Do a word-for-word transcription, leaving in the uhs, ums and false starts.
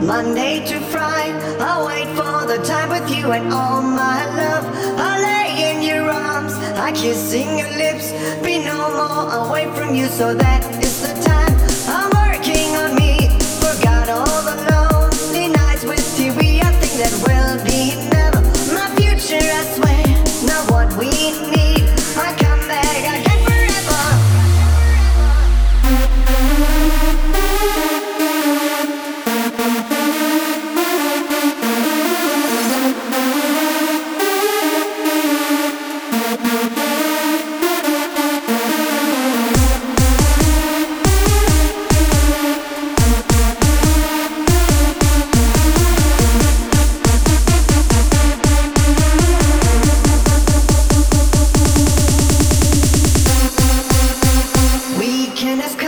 Monday to Friday, I wait for the time with you and all my love. I lay in your arms, I kissing your lips. Be no more away from you, so that is the time. I'm working on me, forgot all the lonely nights with T V. I think that will be never my future, I swear. Not what we need. I come back again forever. We can escape